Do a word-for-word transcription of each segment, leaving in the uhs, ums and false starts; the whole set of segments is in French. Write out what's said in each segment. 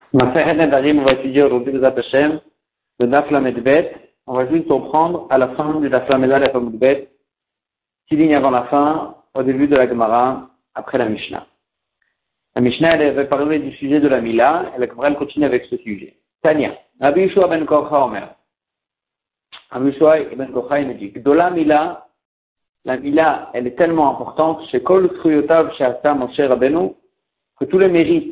Maseret Nedarim, on va étudier aujourd'hui le Zat Hashem, le Daf Lamed Bet. On va juste comprendre à la fin du Daf Lamed Bet, six lignes avant la fin, au début de la Gemara, après la Mishnah. La Mishnah, elle avait parlé du sujet de la Mila, et la Gemara, elle continue avec ce sujet. Tania, Rabbi Yeshua ben Korcha Omer. Rabbi Yeshua ben Korcha, il me dit, Gdola Mila, la Mila, elle est tellement importante, chez Kol Kruyotav, chez Asa Moshe Rabbeinu, que tous les mérites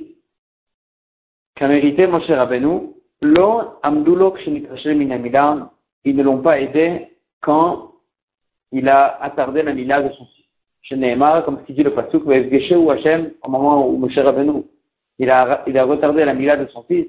qu'a mérité Moshe Rabbeinu, lo amdulo kshenitrashe min Mila, ils ne l'ont pas aidé quand il a attardé la Mila de son fils. Chez Nehemar, comme ce dit le pasuk, ou Hashem, au moment où Moshe Rabbeinu, il a, il a retardé la Mila de son fils,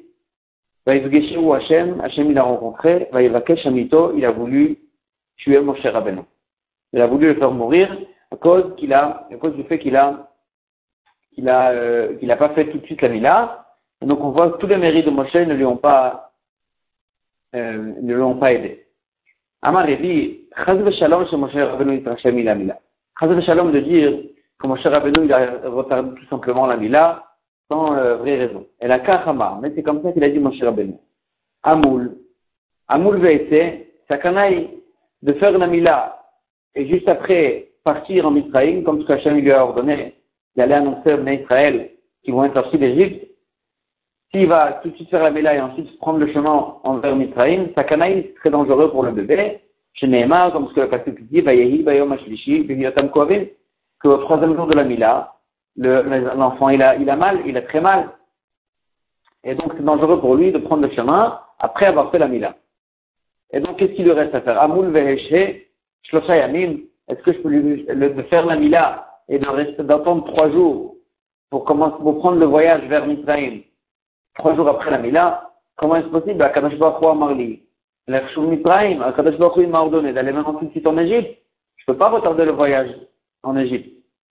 ou Hashem, Hashem il a rencontré, Vayevakesh Amito, il a voulu tuer Moshe Rabbeinu. Il a voulu le faire mourir à cause qu'il a, à cause du fait qu'il a, qu'il a, euh, qu'il n'a pas fait tout de suite la Mila. Et donc on voit que tous les mérites de Moshe ne lui ont pas, euh, ne lui ont pas aidé. Amar dit, Chaz v'shalom chez Moshe Rabbeinu yitrashem mila Mila. Chaz v'shalom de dire que Moshe Rabbeinu il a retardé tout simplement la Mila sans euh, vraie raison. Et la Kachama, mais c'est comme ça qu'il a dit Moshe Rabbeinu. Amoul, Amoul ve'ete, sakanaï de faire la Mila et juste après partir en Israël, comme ce qu'Hachem lui a ordonné d'aller annoncer aux Israël qui vont être sortis d'Égypte. S'il va tout de suite faire la Mila et ensuite prendre le chemin envers Mitzrayim, Sakanaï, c'est très dangereux pour le bébé. Chez Nehemar, comme ce que le pasuk dit, Vayehi, Bayom Ashlishi, Bivyotam Koavim, qu'au troisième jour de la Mila, le, l'enfant, il a, il a mal, il a très mal. Et donc, c'est dangereux pour lui de prendre le chemin après avoir fait la Mila. Et donc, qu'est-ce qu'il lui reste à faire? Amoul Veheshe, Shlosha Yamim, est-ce que je peux lui, le, de faire la Mila et de rester, d'attendre trois jours pour commencer, pour prendre le voyage vers Mitzrayim? Trois jours après la Mila, comment est-ce possible? Akadosh Baruch Hu amar li, l'Echshul Mitzrayim, Akadosh Baruch Hu il m'a ordonné d'aller maintenant tout de suite en Égypte. Je peux pas retarder le voyage en Égypte.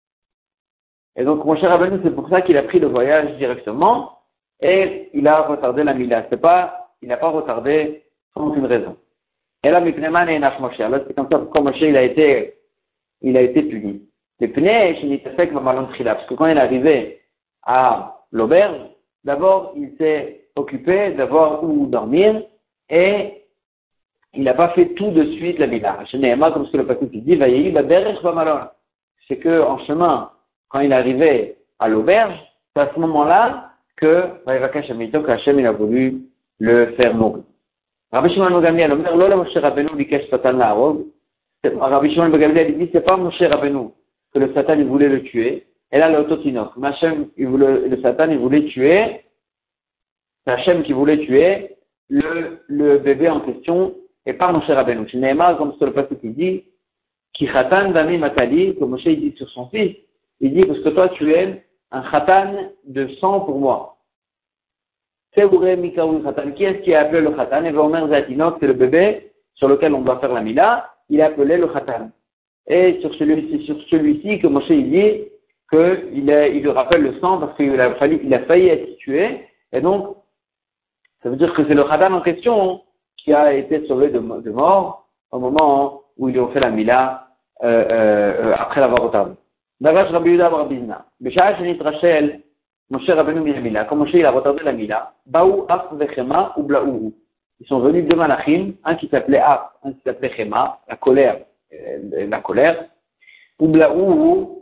Et donc, mon cher Rabbeinu, c'est pour ça qu'il a pris le voyage directement et il a retardé la Mila. C'est pas, il n'a pas retardé sans aucune raison. Et là, Mipneman et Naf Moshe. Là, c'est comme ça pourquoi Moshe il a été, il a été puni. Les pneus, chez Nitafek, Mamalon Trila. Parce que quand il est arrivé à l'auberge, d'abord, il s'est occupé d'avoir où dormir et il n'a pas fait tout de suite la Mila. Chez Nehemar, comme ce que le pasteur dit, Vayehi, Baderech, Bamalon. C'est que, en chemin, quand il est arrivé à l'auberge, c'est à ce moment-là que, Vayevakesh Amito, qu'Hachem, il a voulu le faire mourir. Rabbi Shimon ben Gamliel, Omer, Lola Moshe Rabbeinu, Bikesh Satan La'arog. Rabbi Shimon ben Gamliel, il dit, c'est pas Moshe Rabbeinu que le Satan, il voulait le tuer. Et là, le Ototinok. Hachem, il voulait, le Satan, il voulait tuer, c'est Hachem qui voulait tuer le, le bébé en question, et pas Moshe Rabbeinu. Chez Nehemar, comme c'est le pasteur qui dit, Ki Chatan Dami Matali, que Moshe, il dit sur son fils, il dit, parce que toi, tu es un Chatan de sang pour moi. C'est Ouré Mikaoui Chatan. Qui est-ce qui a appelé le Chatan? Et Omer Zatinok, c'est le bébé sur lequel on doit faire la Mila, il a appelé le Chatan. Et sur celui-ci, sur celui-ci que Moshe, il dit, qu'il il lui rappelle le sang parce qu'il a failli, il a failli être tué. Et donc, ça veut dire que c'est le Khatan en question qui a été sauvé de, de mort au moment où ils ont fait la Mila, euh, euh, après l'avoir retardé. Davash Rabbi Yudah Barbizna. B'sha'ah shenit Rachel, Moshe Rabbeinu min Mila. Quand Moshe il a retardé la Mila, Baou Af vechema ou Blaou. Ils sont venus deux malachim, un qui s'appelait Af, un qui s'appelait Chema, la colère, euh, la colère, ou Blaou,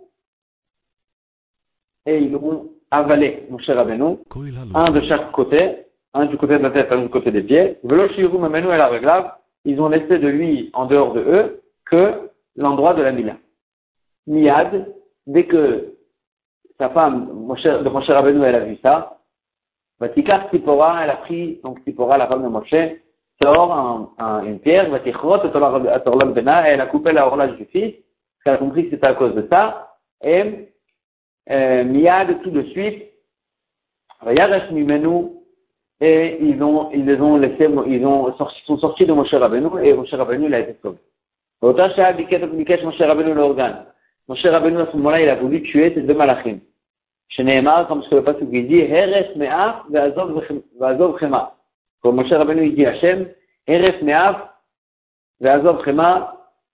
et ils l'ont avalé, Moshe Rabbeinu, un de chaque côté, un du côté de la tête, un du côté des pieds. Ils ont laissé de lui, en dehors de eux, que l'endroit de la Mila. Miyad, dès que sa femme, Moshe, de Moshe Rabbeinu, elle a vu ça, Vatikar Tzipora, elle a pris, donc Tzipora, la femme de Moshe, sort un, un, une pierre, Vatikrot, Atorlam Bena, elle a coupé la horloge du fils, elle a compris que c'était à cause de ça, et Euh, Miyad tout de suite, Vayaresh Mimenu, et ils ont, ils les ont laissés, ils ont sorti, sont sortis de Moshe Rabbeinu, et Moshe Rabbeinu, il a été sauvé. Otasha Bikesh Moshe Rabbeinu l'organe. Moshe Rabbeinu, à ce moment-là, il a voulu tuer ces deux malachim. Chez Nehemar, comme ce que le pasteur dit, Heres Me'af, Ve'azov Chema. Comme Moshe Rabbeinu, il dit Hachem, Heres Me'af, Ve'azov Chema,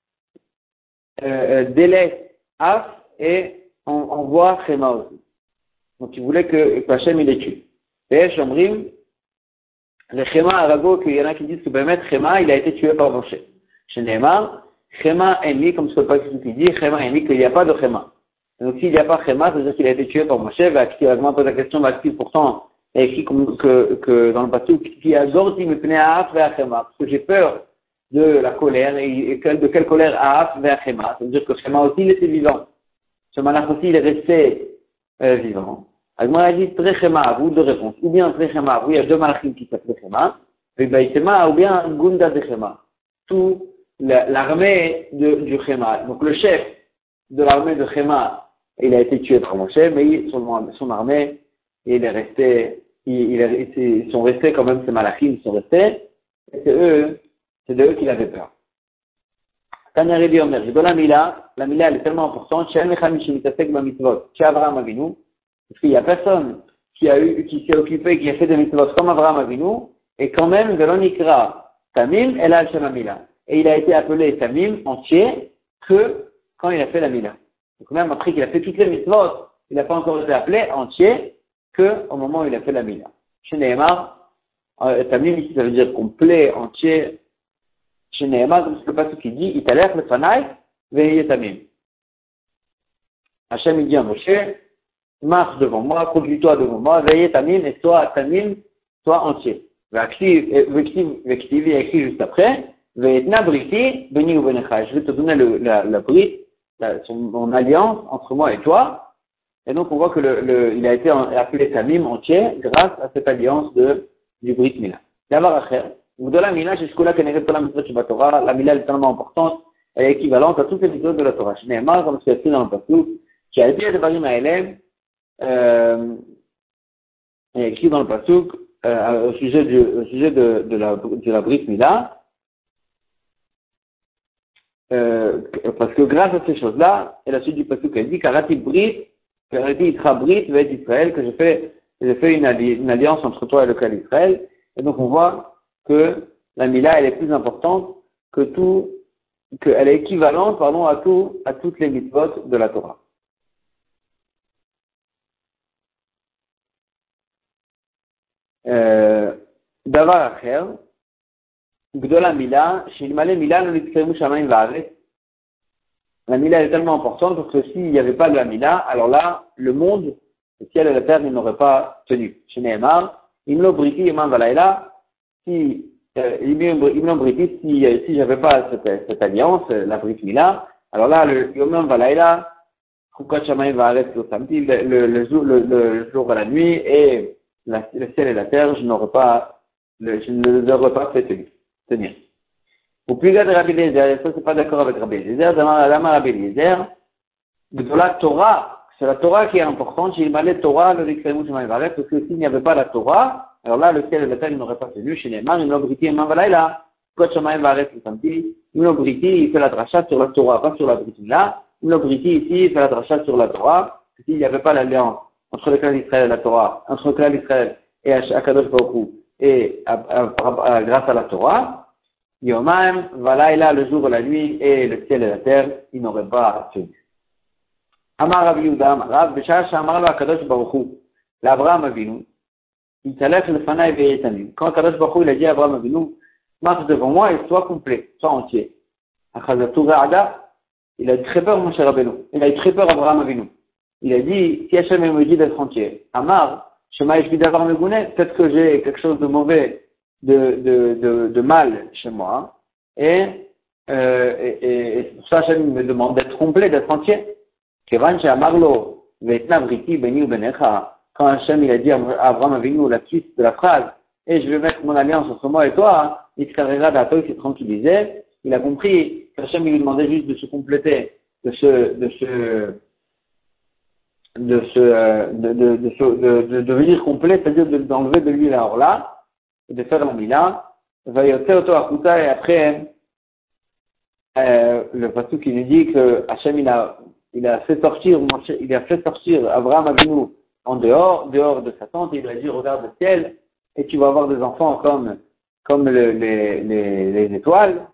délaisse Af, et on, on voit Chema aussi. Donc il voulait que, que Hachem il les tue. Et Shomrim, le Chema Arago, qu'il y en a qui disent que Bémet Chema, il a été tué par Moshe. Chez Neymar, Chema Eni, comme ce que pas qui dit, Chema Eni, qu'il n'y a pas de Chema. Donc s'il n'y a pas Chema, ça veut dire qu'il a été tué par Moshe, va activement poser la question, va activer pourtant, et écrit que, que dans le bateau, qui a Gordi me pnei Aaf vers Chema, parce que j'ai peur de la colère, et de quelle colère Aaf vers Chema. Ça veut dire que Chema aussi, il était vivant. Ce malach aussi, il est resté euh, vivant. Alors, a dit très Chema, vous deux réponses. Ou bien très Chema, oui, il y a deux malachim qui s'appellent Chema, et Baïtema, ou bien Gunda de Chema. Tout l'armée de, du Chema. Donc le chef de l'armée de Chema, il a été tué par Moshe, mais son, son armée, il est resté, il, il est, ils sont restés quand même, ces malachim, ils sont restés, et c'est eux, c'est de eux qu'il avait peur. Tanya dit Omer, dans la Mila, la Mila elle est tellement importante, chez Mecham Shimitasek Bamitzvot, chez Avraham Avinu, parce qu'il n'y a personne qui a eu, qui s'est occupé, qui a fait des mitzvot comme Avraham Avinu, et quand même, Velon Ikra, Tamim, El Al Shem Mila. Et il a été appelé Tamim entier que quand il a fait la Mila. Donc même après qu'il a fait toutes les mitzvot, il n'a pas encore été appelé entier que au moment où il a fait la Mila. Chez Nehemar, euh, Tamim ici ça veut dire complet, entier. Chez Nehemar, comme c'est le passage qui dit, Italech le Fanai, veillez Tamim. Hachem il dit à Moshe, marche devant moi, conduis-toi devant moi, veillez Tamim, et sois Tamim, sois entier. Vective, il y a écrit juste après, Ve'etna briti, beni ou benecha. Je vais te donner le, la, la brit, la, son, mon alliance entre moi et toi. Et donc on voit que le, le, il a été appelé Tamim entier grâce à cette alliance de, du Brit Mila. D'abord, de la Mila, jusqu'au là, la Torah, la Mila est tellement importante, elle est équivalente à toutes les vidéos de la Torah. Je n'ai pas, comme c'est écrit dans le passage, qui a été de à élève, euh, il est écrit dans le passage, euh, au sujet du, au sujet de, de la, de la Brit Mila, Euh, parce que grâce à ces choses-là, et la suite du passage elle dit Karati Brit, Karati Itra Brit, Ve'et Israël, que j'ai fait, j'ai fait une, alli- une alliance entre toi et le clan d'Israël. Et donc on voit que la Mila, elle est plus importante que tout, qu'elle est équivalente, pardon, à tout, à toutes les mitzvot de la Torah. Euh, Davar Acher, Gdola Mila, Shilmale Mila, no nitkemu shamayim va'aretz. La Mila est tellement importante parce que s'il n'y avait pas de la Mila, alors là, le monde, le ciel et la terre, ils n'auraient pas tenu. Chez Nehemar, Imlo Briti, Imam Valaïla, si, euh, Imlo Briti, si, euh, si j'avais pas cette, cette alliance, euh, la Brit Mila, alors là, le Imam Valaïla, Chukot Shamayim Va'aretz, le samedi, le, le, le, jour, le, le jour et la nuit, et la, le ciel et la terre, je n'aurais pas, le, je ne les aurais pas fait tenir. tenir. Au plus gars de Rabbi Eliezer, ça c'est pas d'accord avec Rabbi Eliezer, Dama Rabbi Eliezer, de la Torah, c'est la Torah qui est importante, il m'allait Torah, le Rikremu Shema Yivaret, parce que s'il n'y avait pas la Torah, alors là, le ciel et la terre, ils n'auraient pas tenu, chez Neymar, il n'obriti, il m'envalaïla, Kot Shema Yivaret, le samedi, il n'obriti, il fait la dracha sur la Torah, pas sur la Brit-Mila, il n'obriti ici, il fait la dracha sur la Torah, s'il n'y avait pas l'alliance entre le clan d'Israël et la Torah, entre le clan d'Israël et Akadosh Baruch Hu, et à, à, à, à, grâce à la Torah, Yomam, Valaïla, le jour et la nuit, et le ciel et la terre, ils n'auraient pas tenu. Amar Rabbi Yehuda, Amar Rav, B'shah Shamar lo Akadosh Baruch Hu, l'Abraham Avinu, il t'allève le Fanaï Ve'etanim. Quand Akadosh Baruch Hu, il a dit à Abraham Avinu, marche devant moi et sois complet, sois entier. Achazatu Ra'ada, il a eu très peur, mon cher Rabbeinu. Il a eu très peur, Abraham Avinu. Il a dit, si Hachem me dit d'être entier, Amar, Shema Yeshvi d'avoir Megounet, peut-être que j'ai quelque chose de mauvais, de, de, de, de mal chez moi, et, euh, et, et, et pour ça Hachem me demande d'être complet, d'être entier. Kevan she'amarlo ve'etna briti beni u benecha, quand Hachem il a dit à Abraham Avinu la suite de la phrase, et je vais mettre mon alliance entre moi et toi, il s'est tranquillisé, il a compris qu'Hachem il lui demandait juste de se compléter, de se, de se, de se, de, de, de, de, de devenir complet, c'est-à-dire de, d'enlever de lui la orla, et de faire la mila, va y auto akuta, et après, euh, le passage qui nous dit que Hachem il a, il a fait sortir, il a fait sortir Abraham Avinu en dehors, dehors de sa tente, et il a dit regarde le ciel, et tu vas avoir des enfants comme, comme le, les, les, les étoiles,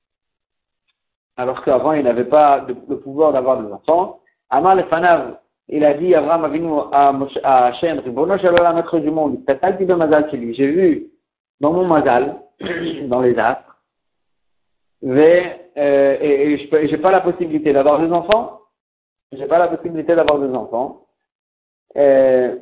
alors qu'avant il n'avait pas de, le pouvoir d'avoir des enfants. Amar le fanav, il a dit Abraham Avinu à, à Hachem, Ribono Shel Olam, maître du monde, t'as dit de Mazal chez lui. J'ai vu dans mon Mazal, dans les astres, et, euh, et, et je n'ai pas la possibilité d'avoir des enfants. J'ai pas la possibilité d'avoir des enfants. Euh,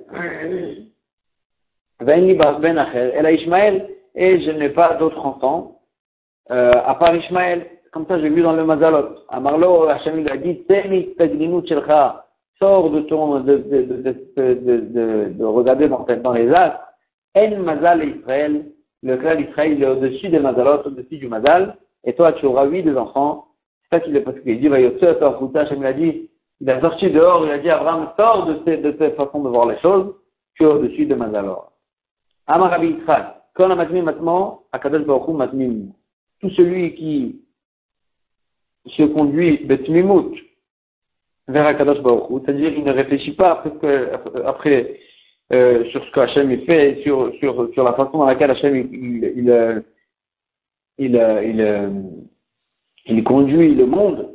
Ben Acher, elle a Ishmaël, et je n'ai pas d'autres enfants, euh, à part Ishmaël. Comme ça, j'ai vu dans le Mazalot. Amarlo, Hachem lui a dit, Teni Taglinut Shelcha, sors de ton, de, de, de, de, de, de, de regarder dans, dans les astres. En Mazal Israël, le clan d'Israël, il est au-dessus des Mazalot, au-dessus du Mazal, et toi, tu auras huit des enfants. C'est ça qu'il est parce qu'il dit, va Yotze, Hachem lui a dit, il a sorti dehors, il a dit, Abraham, sors de, ces, de cette façon de voir les choses, tu es au-dessus de Mazalor. Amar Rabbi Yitzchak, quand on a matmim matmo, Akadosh Baruch Hu matmim. Tout celui qui se conduit betmimut vers Akadosh Baruch Hu, c'est-à-dire il ne réfléchit pas après, que, après euh, sur ce que Hachem il fait, sur, sur, sur la façon dans laquelle Hachem il, il, il, il, il, il, il conduit le monde,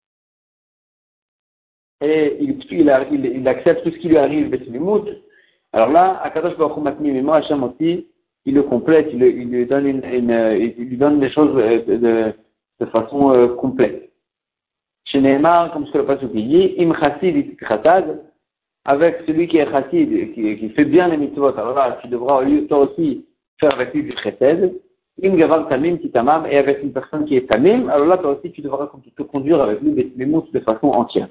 et il, il, il, il accepte tout ce qui lui arrive, betmimut. Alors là, Akadosh Baruch Hu matmim, et moi Hachem aussi, il le complète, il, il lui donne une, une, il lui donne des choses de, de, de façon euh, complète. Chez Nehemar, comme ce que le Pasuk dit, Im Chassid it Chatad, avec celui qui est Chassid, qui, qui fait bien les mitzvot, alors là, tu devras toi aussi faire avec lui du Chesed. Im Gavar Tamim Titamam, et avec une personne qui est Tamim, alors là, toi aussi, tu devras te conduire avec lui des mots de façon entière.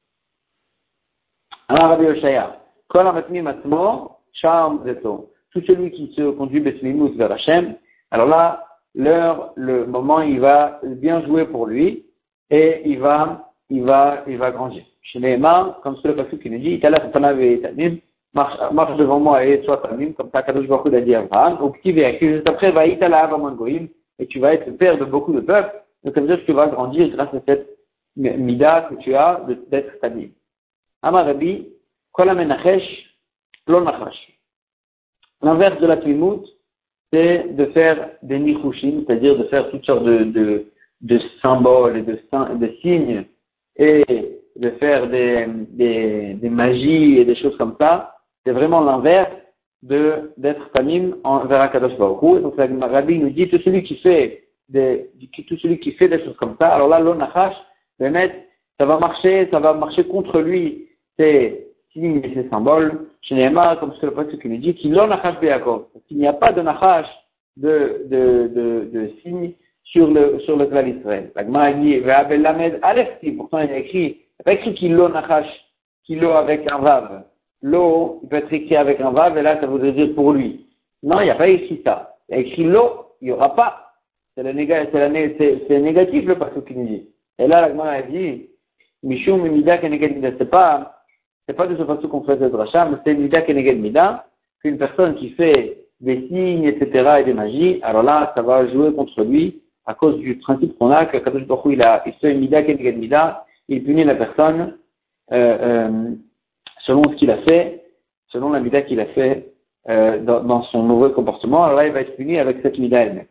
Alors, Rabbi Yoshaya, Kol HaMatmim Atmo, Sham Zeto. Tout celui qui se conduit Besmimut vers Hachem, alors là, l'heure, le moment, il va bien jouer pour lui, et il va, il va, il va grandir. Chez les mains, comme ce que le Pasuk qui nous dit, Itala Fatanav et Tamim, marche, marche devant moi et sois Tamim, comme ça, Kadosh Baruch Hu a dit à Abraham, ou qui va écrire juste après, va Itala Avaman Goïm, et tu vas être le père de beaucoup de peuples, donc ça veut dire que tu vas grandir grâce à cette mida que tu as d'être Tamim. Amar Rabbi, Kol HaMenachesh, Lo Nachash. L'inverse de la Tmimut, c'est de faire des nichushim, c'est-à-dire de faire toutes sortes de, de, de symboles et de, de signes, et de faire des, des, des magies et des choses comme ça. C'est vraiment l'inverse de, d'être tamim vers Akadosh Baruch Hu. Donc, la Rabbi nous dit, tout celui qui fait des, tout celui qui fait des choses comme ça, alors là, l'onachash, le mettre, ça va marcher, ça va marcher contre lui, c'est signes et ces symboles, chez Nehemar, comme ce que le Pasuk nous dit, qu'il l'onachash be'Yakov. Qu'il n'y a pas de nachash de, de, de, de signes sur le, sur le clan d'Israël. La Gemara dit, ve'abel lamed alefti, pourtant il a écrit, il n'a pas écrit qu'il l'onachash, qu'il l'o avec un vav. L'o, il peut être écrit avec un vav, et là, ça voudrait dire pour lui. Non, il n'y a pas écrit ça. Il a écrit l'o, il n'y aura pas. C'est le négatif, c'est, la, c'est, c'est négatif le Pasuk qui nous dit. Et là, la Gemara dit, Mishum mida keneged mida, c'est pas, c'est pas de ce façon qu'on fait cette rachat, mais c'est mida keneged mida, qu'une personne qui fait des signes, et cetera, et des magies, alors là, ça va jouer contre lui, à cause du principe qu'on a, que Kadosh Baruch Hu, il a, il fait mida keneged mida, il punit la personne, euh, euh, selon ce qu'il a fait, selon la mida qu'il a fait, euh, dans, dans son mauvais comportement, alors là, il va être puni avec cette mida elle-même.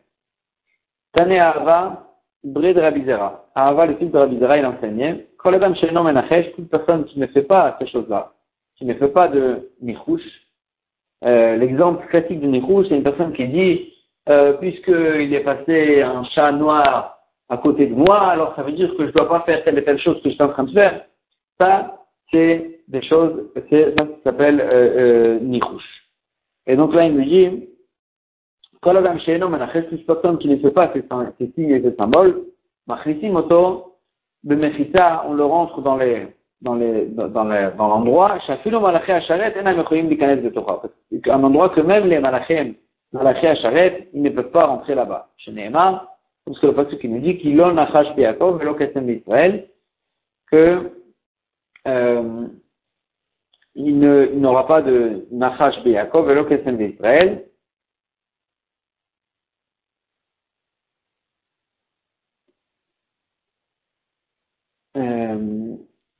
Tane Ahava, Bre de Rabbi Zera. Ahava, le fils de Rabbi Zera, il enseignait, Kol Adam Sheino Menachesh, toute personne qui ne fait pas ces choses-là, qui ne fait pas de nichouch. Euh, l'exemple classique de nichouch, c'est une personne qui dit, euh, puisqu'il est passé un chat noir à côté de moi, alors ça veut dire que je ne dois pas faire telle et telle chose que je suis en train de faire. Ça, c'est des choses, c'est, ça s'appelle euh, euh, nichouch. Et donc là, il me dit, Kol Adam Sheino Menachesh, toute personne qui ne fait pas ces, ces signes et ces symboles, Machnisim Oto, de Mechita, on le rentre dans les, dans les, dans, dans, les, dans l'endroit, Shafilo Malaché Asharet, Ena Mechoyim Likanes de Torah. Un endroit que même les Malachim, Malaché Asharet, ils ne peuvent pas rentrer là-bas. Chez Nehemar, parce que le passage qui nous dit qu'il l'on Nachash Be'Yakov, Velo Kesem d'Israël, que, euh, il ne, il n'aura pas de Nachash Be'Yakov, Velo Kesem d'Israël. Euh,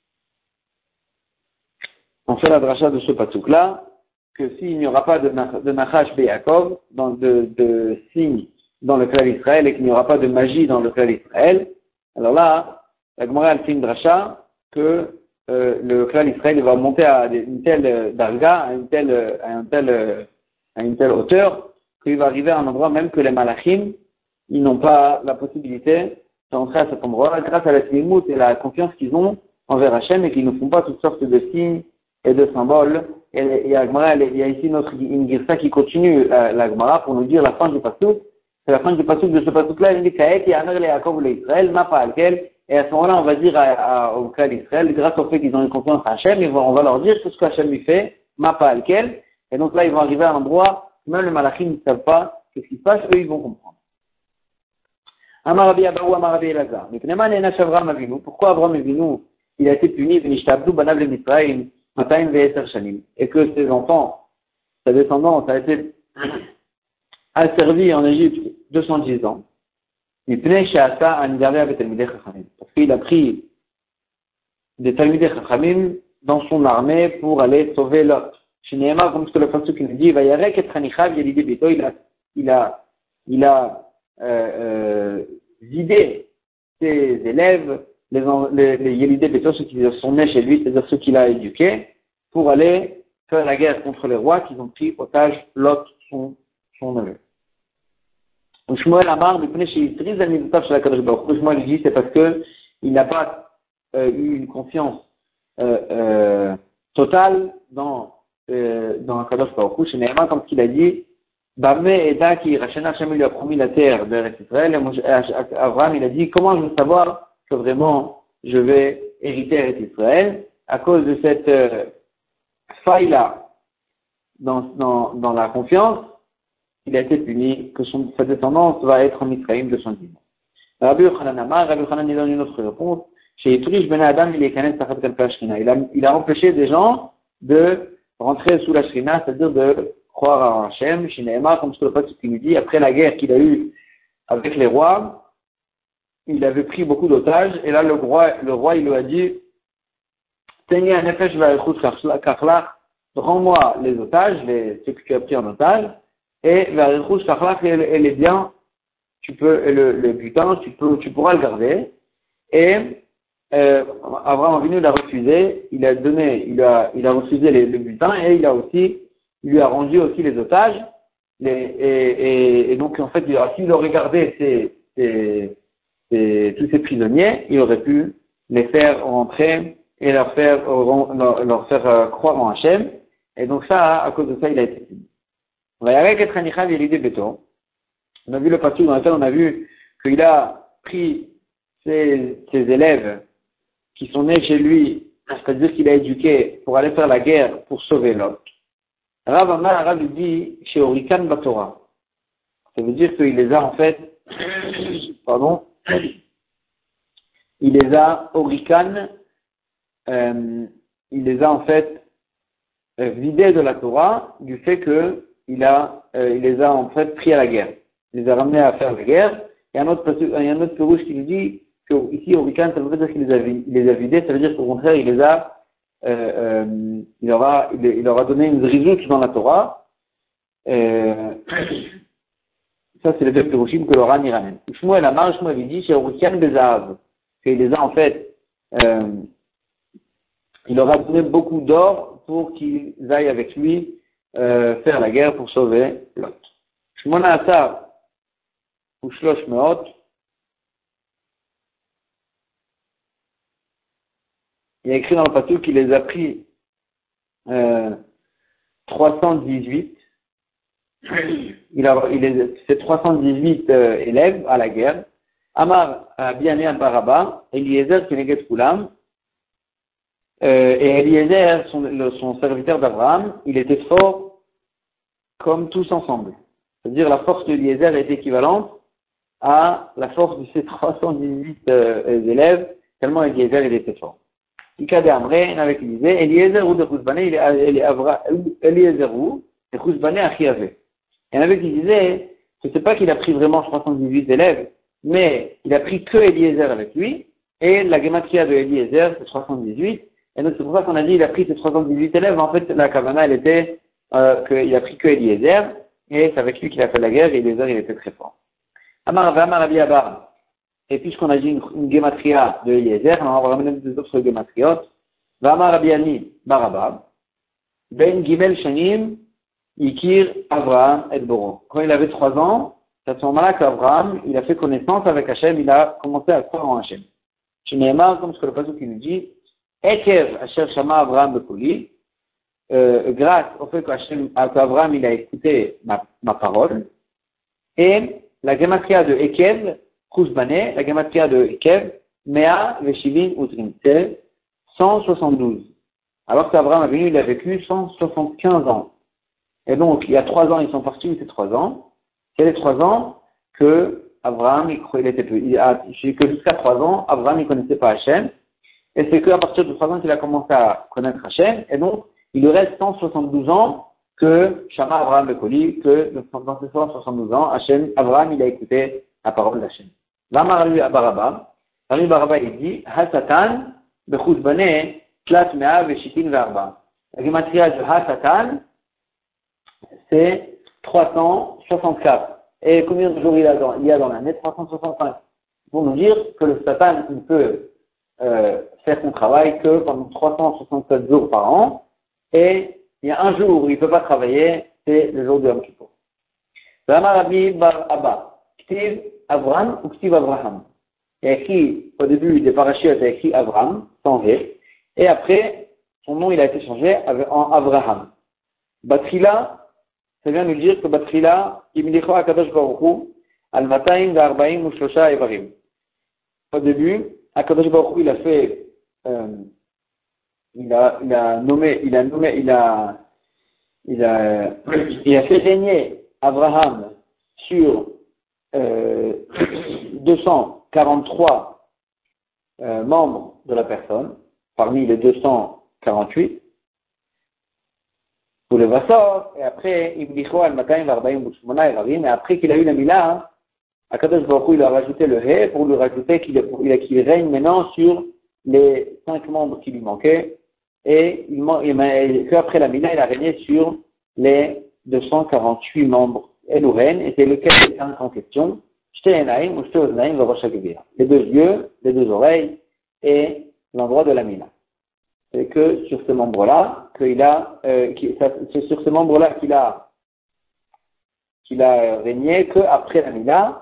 on fait la dracha de ce pasouk-là, que s'il n'y aura pas de, de Nachash Be'Yakov, dans de, de signes dans le clan d'Israël, et qu'il n'y aura pas de magie dans le clan d'Israël, alors là, la Gemara elle fait une dracha que euh, le clan d'Israël va monter à une telle darga, à une telle, à une telle, à une telle hauteur, qu'il va arriver à un endroit même que les malachim, ils n'ont pas la possibilité d'entrer à cet endroit grâce à la slimut et la confiance qu'ils ont envers Hachem et qu'ils ne font pas toutes sortes de signes et de symboles. Et, et, et il y a ici notre une girsa qui continue la, la Gemara pour nous dire la fin du pasuk. C'est la fin du pasuk de ce pasuk-là. Il dit Kaet Yamer le Yaakov le Israël, ma pas alquel. Et à ce moment-là, on va dire à, à, au cas d'Israël, grâce au fait qu'ils ont une confiance à Hachem, ils vont, on va leur dire tout ce que Hachem lui fait, ma pas alquel. Et donc là, ils vont arriver à un endroit, même les malachim ne savent pas ce qui se passe, eux, ils vont comprendre. Amar Rabbi Abahu, Amar Rabbi Elazar. Pourquoi Abraham Avinu, il a été puni, V'nishtabdu banav le Mitzrayim, Mataim ve'eser shanim, et que ses enfants, sa descendance a été asservie en Égypte deux cent dix ans. Parce qu'il a pris des Talmidei Chachamim dans son armée pour aller sauver Lot. Chez Nehemar, comme ce que le pasuk nous dit, il a, il a, il a euh, euh, vidé ses élèves, les, les, les Yelidei Beto, ceux qui sont nés chez lui, c'est-à-dire ceux qu'il a éduqués, pour aller faire la guerre contre les rois qui ont pris otage Lot, son, son neveu. Shmuel Amar, Shmuel dit c'est parce que il n'a pas euh, eu une confiance euh, euh, totale dans euh, dans Kadosh Baruch Hu. Chez Nehemar, comme qu'il a dit, Bamé Eda qui Rachena Hashem lui a promis la terre de Israël. Abraham il a dit comment je veux savoir que vraiment je vais hériter Israël à cause de cette euh, faille là dans dans dans la confiance. Il a été puni, que son, sa descendance va être en Mitzrayim de son dimanche. Rabbi Yochanan Amar, Rabbi Yochanan donne une autre réponse. Chez Yitrish Ben Adam, il est kanen tachat kalpa shrina. Il a, il a empêché des gens de rentrer sous la shrina, c'est-à-dire de croire en Hachem. Chez Nehemar, comme ce que le pasuk nous dit, après la guerre qu'il a eue avec les rois, il avait pris beaucoup d'otages, et là, le roi, le roi, il lui a dit, Teni anefesh va'echut kachlach, rends-moi les otages, les, ceux que tu as pris en otage, et va'echut kachlach, et les biens, tu peux, et le, le butin, tu peux, tu pourras le garder. Et, euh, Abraham Avinu l'a refusé, il a donné, il a, il a refusé les, le butin, et il a aussi, il lui a rendu aussi les otages, les, et, et, et donc, en fait, s'il aurait gardé ces, ces, ces, tous ces prisonniers, il aurait pu les faire rentrer et leur faire, leur, leur faire euh, croire en Hachem. Et donc ça, à cause de ça, il a été puni. On a vu le passage dans lequel on a vu qu'il a pris ses, ses élèves qui sont nés chez lui, c'est-à-dire qu'il a éduqué pour aller faire la guerre pour sauver l'autre. Rav Amar, Rav dit chez Orikan Batora. Ça veut dire qu'il les a en fait, pardon, il les a Orikan, euh, il les a en fait euh, vidés de la Torah du fait que il a, euh, il les a en fait pris à la guerre. Il les a ramenés à faire la guerre. Il y a un autre, il y a un autre pérouche qui nous dit que ici Orikan, ça veut dire qu'il les a, il les a vidés, ça veut dire qu'au contraire il les a Euh, euh, il, aura, il, il aura donné une zrizout dans la Torah. Euh, ça, c'est le deux pérouchim que l'Oran y ramène. Shmuel Amar, Shmuel dit, chez Orikan Bezahav, qu'il les a en fait, euh, il leur a donné beaucoup d'or pour qu'ils aillent avec lui euh, faire la guerre pour sauver Lot. Shmona Asar, ou Shlosh Meot, il y a écrit dans le pasuk qu'il les a pris euh, trois cent dix-huit. Il a, il est, c'est trois cent dix-huit euh, élèves à la guerre. Amar Biané Baraba, Eliezer Keneget Kulam, euh, et Eliezer, son, le, son serviteur d'Abraham, il était fort comme tous ensemble. C'est-à-dire la force d'Eliezer est équivalente à la force de ces trois cent dix-huit euh, élèves, tellement Eliezer il était fort. Ikade Amre, avec Eliezer, Eliezer ou de Chuzbané, il est Eliezer ou de Chuzbané Achiave. Il y en avait qui disaient, je ne sais pas qu'il a pris vraiment trois cent dix-huit élèves, mais il a pris que Eliezer avec lui, et la gematria de Eliezer, c'est trois cent dix-huit, et donc c'est pour ça qu'on a dit, il a pris ces trois cent dix-huit élèves, en fait, la kavana, elle était, euh, qu'il a pris que Eliezer, et c'est avec lui qu'il a fait la guerre, et Eliezer, il était très fort. Amar Amar Abi Abar. Et puisqu'on a dit une, une gematria de Eliezer, on va ramener deux autres gematriot. Vama Rabiani Baraba, Ben Gimel Shanim, Ikir Avraham et Boro. Quand il avait trois ans, c'est à ce moment-là qu'Avraham, il a fait connaissance avec Hachem, il a commencé à croire en Hachem. Je n'ai marre, comme ce que le passage qui nous dit, Ekev Asher Shama Avraham Bekoli, euh, grâce au fait qu'Avraham, il a écouté ma, ma parole, et la gematria de Ekev, Kouzbane, la gematria de Ekev, Mea Veshivin Utrim, c'est cent soixante-douze. Alors qu'Avraham a venu, il a vécu cent soixante-quinze ans. Et donc, il y a trois ans, ils sont partis, c'est trois ans. C'est les trois ans que Avraham, il, il était peu, il a, que jusqu'à trois ans, Avraham, il connaissait pas Hachem. Et c'est qu'à partir de trois ans qu'il a commencé à connaître Hachem. Et donc, il lui reste cent soixante-douze ans que Shama Avraham Bekoli, que dans ces cent soixante-douze ans, Hachem, Avraham, il a écouté la parole d'Hachem. Vamaralu Baraba, Rami Baraba, il dit, Hasatan, Bechuzbane, Tlat Mea, Veshitin Verba. La gematria de Hasatan, c'est trois cent soixante-quatre. Et combien de jours il y a dans, il y a dans l'année? trois cent soixante-cinq. Pour nous dire que le Satan, il peut euh, faire son travail que pendant trois cent soixante-sept jours par an. Et il y a un jour où il ne peut pas travailler, c'est le jour de Yom Kippour. Rama Rabbi Bar Abba, Ktiv Avram ou Ktiv Avraham. Il y a écrit, au début des parachutes, il y a écrit Avram, sans V. Et après, son nom, il a été changé en Avraham. Batrila, ça vient nous dire que Batrila, Imlicho Akadosh Baruch Hu, al Mataim Varbaim ou Shlosha Evarim. Au début, Akadosh Baruch Hu, il a fait, euh, il a, il a nommé, il a nommé, il a, il a, il a fait régner Abraham sur euh, deux cent quarante-trois euh, membres de la personne, parmi les deux cent quarante-huit. Pour le Vassor, et après, Ibdicho al-Mataim Varbaim Bouchmona et Ravim, et après qu'il a eu la Mila, Akadosh Baruch Hu, il a rajouté le He pour lui rajouter qu'il, il, qu'il règne maintenant sur les cinq membres qui lui manquaient, et il, il, qu'après la Mila, il a régné sur les deux cent quarante-huit membres Elouren, et c'est lequel est cinq en question, Shtenaim ou Shteoznaim Varoshagvir. Les deux yeux, les deux oreilles, et l'endroit de la Mila. C'est que sur ce membre-là, qu'il a, euh, qui, ça, c'est sur ce membre-là qu'il a, qu'il a régné qu'après la Mila,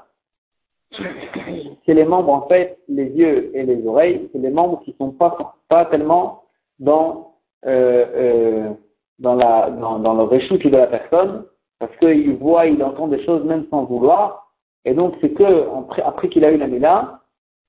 c'est les membres, en fait, les yeux et les oreilles, c'est les membres qui sont pas, pas tellement dans, euh, euh, dans la, dans, dans le réchoute de la personne, parce qu'il voit, il entend des choses même sans vouloir, et donc c'est que, après, après qu'il a eu la Mila,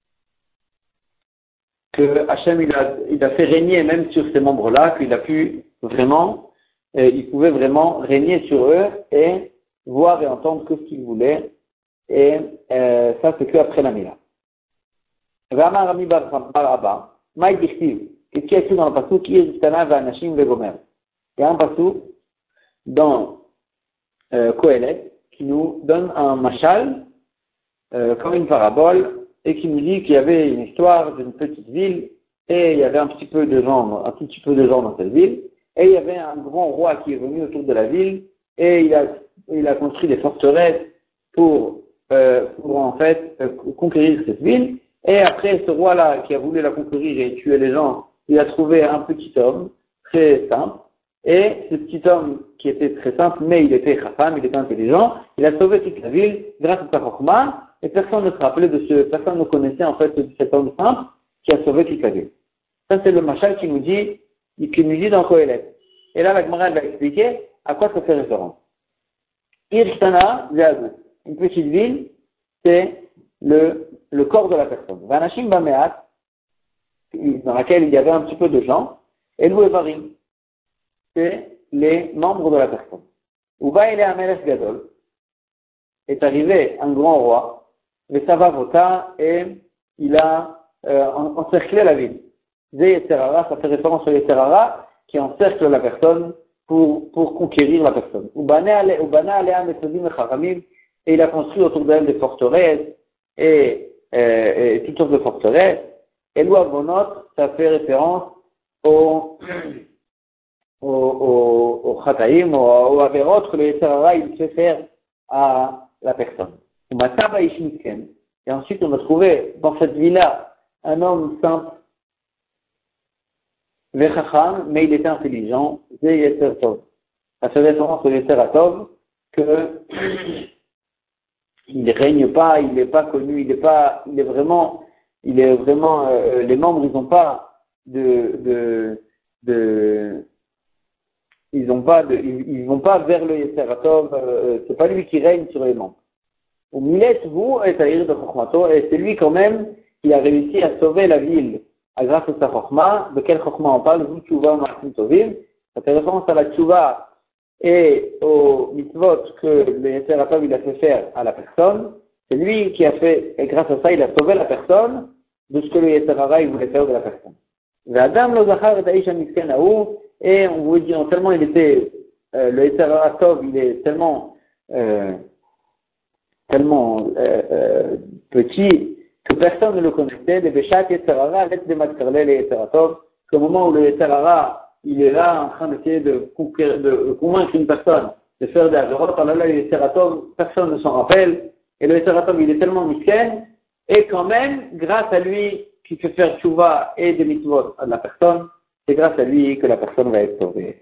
que Hachem il a, il a fait régner même sur ces membres-là, qu'il a pu vraiment, euh, il pouvait vraiment régner sur eux et voir et entendre que ce qu'il voulait. Et euh, ça, c'est que après la Mila. Rama Rami Bar Abba, Maï Dichtiv, qu'est-ce qu'il y a écrit dans le passou qui est Zistana Vanashim Vegomer? Il y a un passou dans euh, Kohelet qui nous donne un machal, euh, comme une parabole, et qui nous dit qu'il y avait une histoire d'une petite ville, et il y avait un petit peu de gens, un tout petit peu de gens dans cette ville, et il y avait un grand roi qui est venu autour de la ville, et il a, il a construit des forteresses pour, euh, pour en fait euh, conquérir cette ville, et après ce roi-là qui a voulu la conquérir et tuer les gens, il a trouvé un petit homme, très simple, et ce petit homme qui était très simple, mais il était chafam, il était intelligent, il a sauvé toute la ville grâce à sa chokma, et personne ne se rappelait de ce, personne ne connaissait en fait de cet homme simple qui a sauvé toute la ville. Ça c'est le machal qui nous dit, qui nous dit dans Kohelet. Et là la Gemara va expliquer à quoi ça fait référence. Irshtana Zéazou, une petite ville, c'est le, le corps de la personne. Vanashim Bameat, dans laquelle il y avait un petit peu de gens, et Louevarim, c'est les membres de la personne. Uba il est Amelech Gadol, est arrivé un grand roi, le Savavota, et il a euh, encerclé la ville. Zé Yetzerara, ça fait référence au Yetzerara, qui encercle la personne pour, pour conquérir la personne. Ubana alea metzodim echaramim, et il a construit autour d'elle des forteresses, et, euh, et toutes sortes de forteresses. Et l'Ouavonot, ça fait référence au au, au, au Khataïm, au, au Averot, que le Yetzerara, il fait faire à la personne. Et ensuite, on a trouvé dans cette ville-là un homme simple. Vechacham, mais il était intelligent, c'est Yetzer Tov. Ça fait référence au Yetzer Tov que il ne règne pas, il n'est pas connu, il est pas, il est vraiment, il est vraiment, euh, les membres, ils n'ont pas de, de, de, ils n'ont pas de, ils, ils vont pas vers le Yetzer Tov, euh, c'est pas lui qui règne sur les membres. Au Milet, vous, et Taïr de Chokhmato, et c'est lui quand même qui a réussi à sauver la ville grâce à sa Chokhma. De quel Chokhma on parle? Vous, Tchouva, Martin Tovim. Ça fait référence à la Tchouva et au mitzvot que le Yetzer Tov il a fait faire à la personne. C'est lui qui a fait, et grâce à ça, il a sauvé la personne de ce que le Yetzer Hara il voulait faire de la personne. Adam lo zachar et Aisha Misken Aou, et on vous dit, tellement il était, euh, le Yetzer Tov, il est tellement, euh, tellement euh, euh, petit que personne ne le connaissait. Les Béchat Yetzer Hara, avec des matkarlé les Yetzer Tov, qu'au moment où le Yetzer Hara il est là en train d'essayer de, de convaincre une personne de faire des avérotes, alors là, le Yetzer Tov, personne ne s'en rappelle, et le Yetzer Tov, il est tellement misken, et quand même, grâce à lui, qui fait faire tchouva et des mitzvot à la personne, c'est grâce à lui que la personne va être sauvée.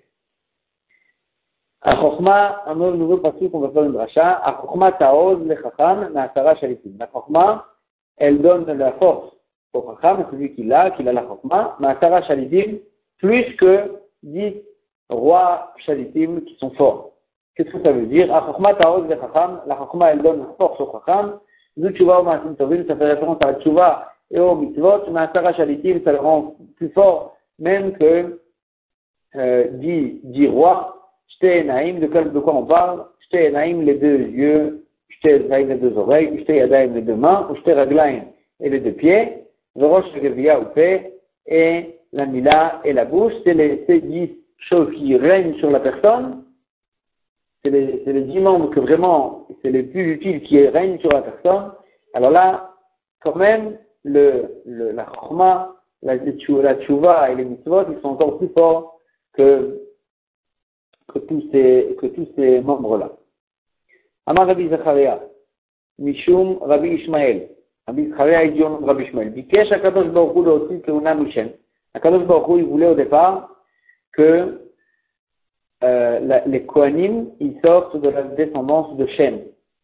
À Chokhma, un nouveau passage qu'on va faire une dracha, à Chokhma ta'oz le chacham na'asara shalitim. La Chokhma, elle donne la force au chacham, celui qui l'a, qui a la Chokhma, na'asara shalitim, plus que dix rois shalitim qui sont forts. Qu'est-ce que ça veut dire? À Chokhma ta'oz le chacham, la Chokhma, elle donne force au chacham, Zu tchouva ou ma'asim tovim, ça fait référence à la tchouva et au mitzvot, na'asara shalitim, ça le rend plus fort, même que euh, dix, dix rois. Shte Naïm, de, de quoi on parle? Shte Naïm, les deux yeux, Shte Naïm, les deux oreilles, Shte Yadaïm, les deux mains, ou Shte Raglaïm, et les deux pieds, Verosh Gevia ou Pé, et la Mila et la bouche, c'est les ces dix choses qui règnent sur la personne, c'est les, c'est les dix membres que vraiment, c'est les plus utiles qui règnent sur la personne. Alors là, quand même, le, le, la Chorma, la, la Tchouva et les Mitzvot, ils sont encore plus forts que que tous ces, que tous ces membres-là. Amar Rabbi Zacharia, Mishum Rabbi Ishmael. Rabbi Zacharia est dit au nom de Rabbi Ishmael. Bikesh HaKadosh Baruch Hu le'otzi keuna Mishem. HaKadosh Baruch Hu, il voulait au départ que euh, la, les Kohanim, ils sortent de la descendance de Shem.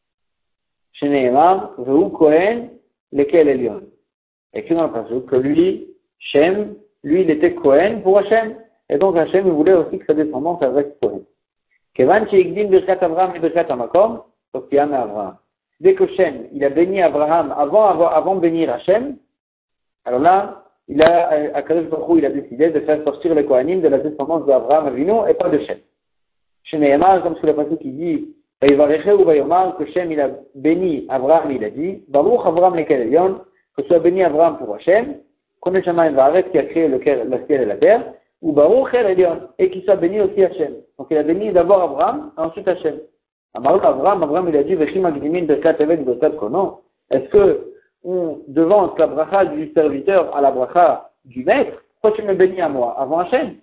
Sheneemar, Vehu Kohen, lequel Elion. Et que dans le passage, que lui, Shem, lui, il était Kohen pour Hashem. Et donc Hachem il voulait aussi que sa descendance reste Kohen. Kevan she'igdim birkat Avraham et birkat Hamakom, donc il y en a Avraham. Dès que Shem, il a béni Abraham avant, avant, avant de bénir Hachem, alors là, il a, à Kadosh Baruch Hu, il a décidé de faire sortir les Kohanim de la descendance d'Avraham Avinu et pas de Shem. Sheneemar, comme sur le passage qui dit, Vayivareche ou Vayomar, que Shem il a béni Avraham, il a dit, Baruch Avraham lekel Elion, que soit béni Avraham pour Hachem, Kodesh Shamayim Va'aretz qui a créé le ciel et la terre, ou Baruch El Elion, et qu'il soit béni aussi Hachem. Donc il a béni d'abord Abraham, ensuite Hachem. Amarou Abraham, Abraham il a dit, Vechim Agdimin Berkat Eved Berkat Kono. Est-ce que on devance la bracha du serviteur à la bracha du maître? Pourquoi tu me bénis à moi, avant Hachem?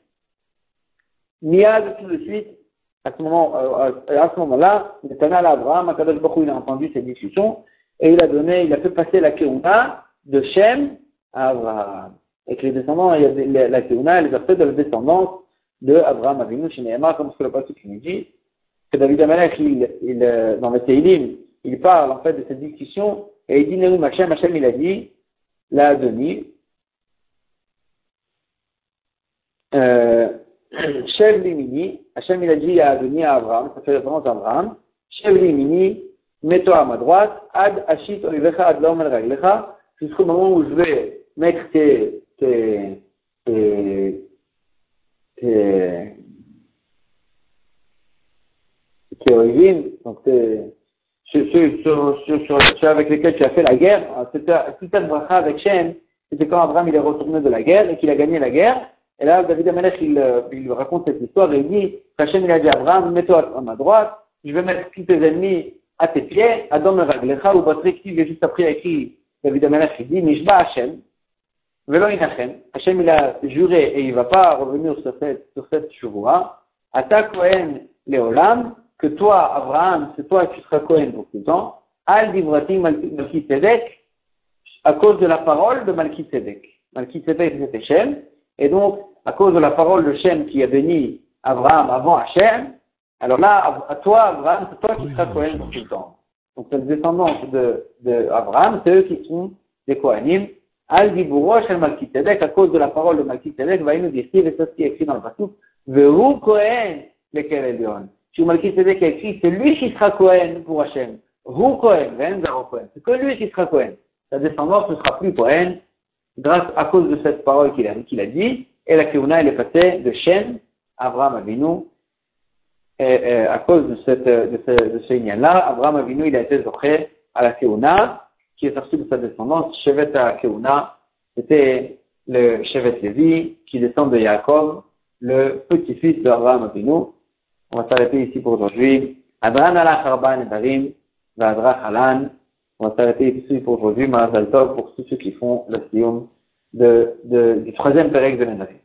Miad, tout de suite, à ce moment, euh, à ce moment-là, Netanel Abraham, Akadosh Baruch Hu, il a entendu cette discussion, et il a donné, il a fait passer la Keuna de Shem à Abraham. Et que les descendants, il y a des, la, la Keuna, les aspects de la descendance de Abraham Avinu, chez Nehemar, comme ce que le pasteur qui nous dit, que David Amalek, il, il, dans le Teilim, il parle en fait de cette discussion, et il dit, Neum Hashem, Hashem il a dit, la Adoni, euh, Shev Limini, Hashem il a dit à Adoni à Abraham, ça fait référence à Abraham, Shev Limini, mets-toi à ma droite, Ad Ashit Olivecha Ad Laom El Raglecha, jusqu'au moment où je vais mettre tes, tes, tes, tes, tes origines, donc tes, ceux, ceux, ceux, ceux, ceux avec lesquels tu as fait la guerre, c'était, toute cette bracha avec Shem, c'était quand Abraham il est retourné de la guerre et qu'il a gagné la guerre, et là David Amalek il, il raconte cette histoire et il dit, Hachem il a dit à Abraham, mets-toi à ma droite, je vais mettre tous tes ennemis à tes pieds, Adam Raglecha, ou Patrick, il est juste après écrit, David Amalek il dit, Nishba Hachem, Velo Inachem, Hachem il a juré et il ne va pas revenir sur cette, sur cette chevoua, Ata Kohen Leolam, que toi, Abraham, c'est toi qui seras Kohen pour tout le temps, Al Divratim Malki Tzedek, à cause de la parole de Malki Tzedek. Malki Tzedek c'était Shem, et donc à cause de la parole de Shem qui a béni Abraham avant Hachem, alors là, à toi, Abraham, c'est toi qui seras Kohen pour tout le temps. Donc, cette descendance de, de Abraham, c'est eux qui sont des Kohanim. Al Diburo Shel Malkitzedek, à cause de la parole de Malkitzedek, va nous dire, et c'est ce qui est écrit dans le passage, Veru Kohen, lequel Elion. Si Malkitzedek a écrit, c'est lui qui sera Kohen pour Hachem. Ru Kohen, Ven Zaro Kohen. C'est que lui qui sera Kohen. Sa descendance ne sera plus Kohen, grâce à cause de cette parole qu'il a, qu'il a dit, et la Keuna, elle est passée de Shem, Abraham Avinu, et, et, à cause de cette, de ce, de ce lien-là, Abraham Avinu, il a été zoché à la Keuna, qui est sorti de sa descendance, Shevet à Keuna, c'était le Shevet Lévi, qui descend de Yaakov, le petit-fils d'Abraham Avinu. On va s'arrêter ici pour aujourd'hui. Adran ala Harban et Darim, Vadra Halan. On va s'arrêter ici pour aujourd'hui, Marazal Tov, pour tous ceux qui font le siyum de, de, du troisième pérec de l'Endarim.